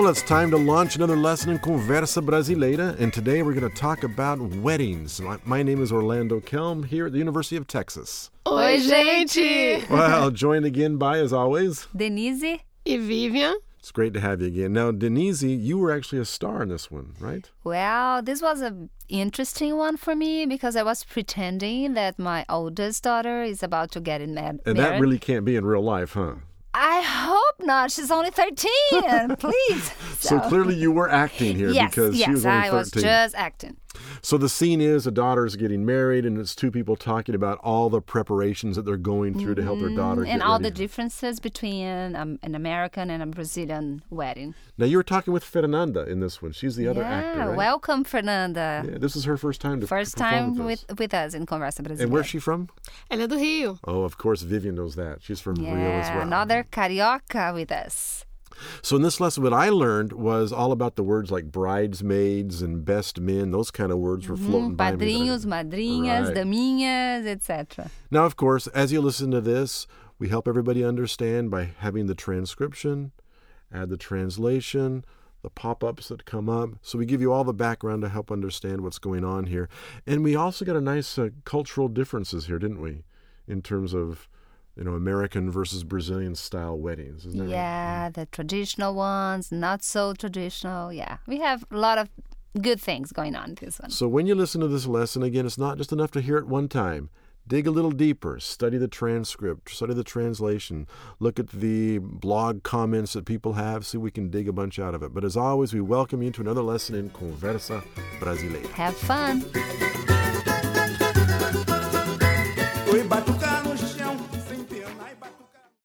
Well, it's time to launch another lesson in Conversa Brasileira, and today we're going to talk about weddings. My name is Orlando Kelm here at the University of Texas. Oi, gente! Well, joined again by, as always, Denise E Vivian? It's great to have you again. Now, Denise, you were actually a star in this one, right? Well, this was an interesting one for me because I was pretending that my oldest daughter is about to get married. And that really can't be in real life, huh? I hope not. She's only 13, please. So clearly you were acting here because she was only 13. I was just acting. So the scene is a daughter's getting married, and it's two people talking about all the preparations that they're going through to help their daughter get and all ready. the differences between an American and a Brazilian wedding. Now, you were talking with Fernanda in this one. She's the other actor, right? Welcome, Fernanda. Yeah, this is her first time to perform with us in Conversa Brasileira. And where's she from? Ela é do Rio. Oh, of course, Vivian knows that. She's from Rio as well. Another carioca with us. So in this lesson, what I learned was all about the words like bridesmaids and best men. Those kind of words were floating by me. Padrinhos, madrinhas, Right. daminhas, etc. Now, of course, as you listen to this, we help everybody understand by having the transcription, add the translation, the pop-ups that come up. So we give you all the background to help understand what's going on here. And we also got a nice cultural differences here, didn't we? In terms of, American versus Brazilian style weddings. Isn't that right? Yeah, the traditional ones, not so traditional. Yeah, we have a lot of good things going on in this one. So when you listen to this lesson, again, it's not just enough to hear it one time. Dig a little deeper. Study the transcript. Study the translation. Look at the blog comments that people have. See if we can dig a bunch out of it. But as always, we welcome you to another lesson in Conversa Brasileira. Have fun. Oi, batucando.